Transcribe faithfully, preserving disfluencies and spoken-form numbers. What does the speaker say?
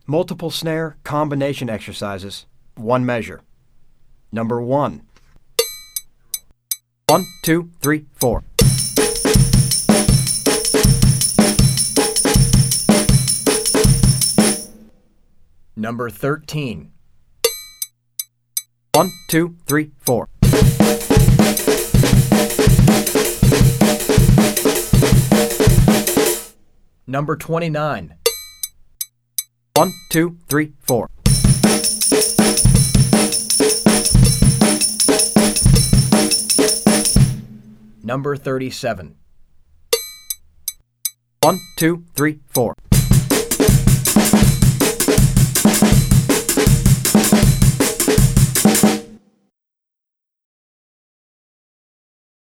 Multiple snare combination exercises, one measure. Number one. One, two, three, four. Number thirteen. One, two, three, four. Number twenty-nine. One, two, three, four. Number thirty-seven. One, two, three, four.